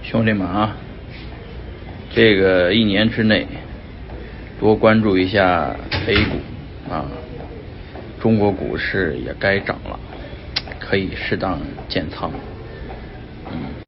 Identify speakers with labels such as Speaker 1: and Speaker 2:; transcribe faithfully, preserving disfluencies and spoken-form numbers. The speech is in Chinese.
Speaker 1: 兄弟们啊，这个一年之内多关注一下 A 股啊，中国股市也该涨了，可以适当减仓。